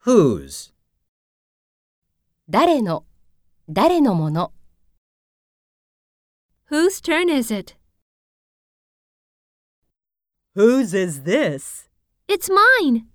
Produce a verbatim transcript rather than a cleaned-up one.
Whose? 誰の、誰のもの。 Whose turn is it? Whose is this? It's mine.